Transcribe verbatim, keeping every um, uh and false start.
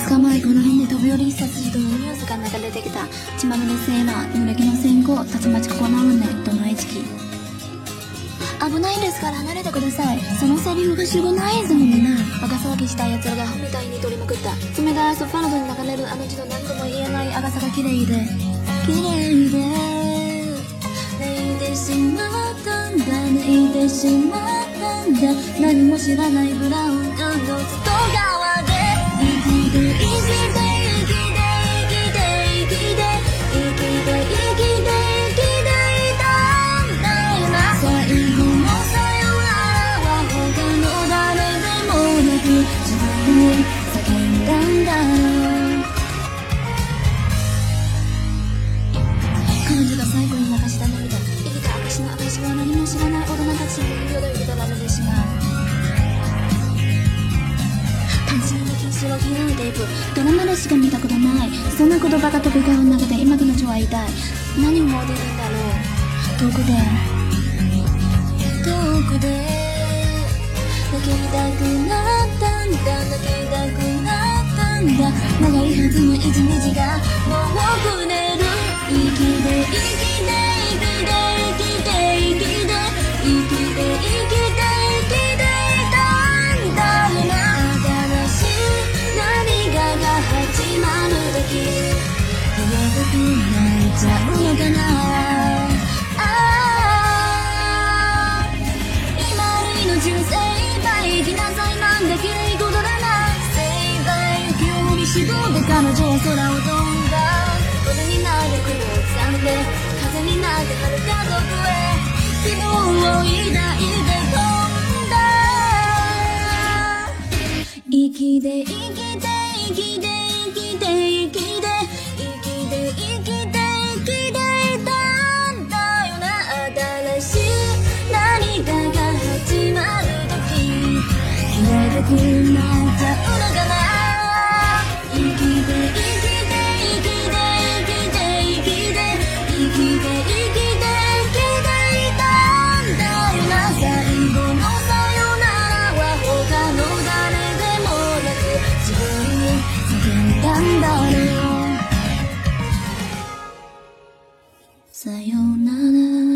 つかまえこの辺で飛び降り殺人とのニュースが流れてきた。血まみれセーラー濡れ着の線香たちまちここなのねどないちき。危ないんですから離れてください。そのセリフが主語ないですもんね。バカ騒ぎした奴らがアホみたいに取りまくった。冷たいアスファルトに流れるあの字の何とも言えない赤さが綺麗で綺麗で泣いてしまったんだ泣いてしまったんだ。何も知らないブラウン管の外側で生きて生きて生きて生きて生きて生きて生きて生きていたんだよな。最後のさよならは他の誰でもなく自分に叫んだんだろう。彼女が最後に流した涙生きた証の証は何も知らない大人たちによだれられてしまう。単純な禁止を拾うテープドラマでしか見たことない。そんな言葉が飛び交う中で今彼女は言いたい。何を思っているんだろう。遠くで遠くで泣きたくなったんだ泣きたくなったんだ。長いはずの一日がもうくねる。生きて生きて生きて生きて生きて生きて生きて生きていたんだよな。新しい何かが始まる時言えなくなっちゃうのかな。ああ今の人生生きなさいなんだ綺麗事だな。生涯興味しぼで彼女は空を飛んだ。風になる雲を掴んで風になって遥か遠くへ希望を抱いて飛んだ。生きて生きて生きて生きて生きて生きて生きて生きていたんだよな。新しい何かが始まる時言えなくなっちゃうのかな。生きて生きて生きて生きて生きて生きて生きて生きていたんだよな。最後のさよならは他の誰でもなく自分に叫んだんだろう。さよなら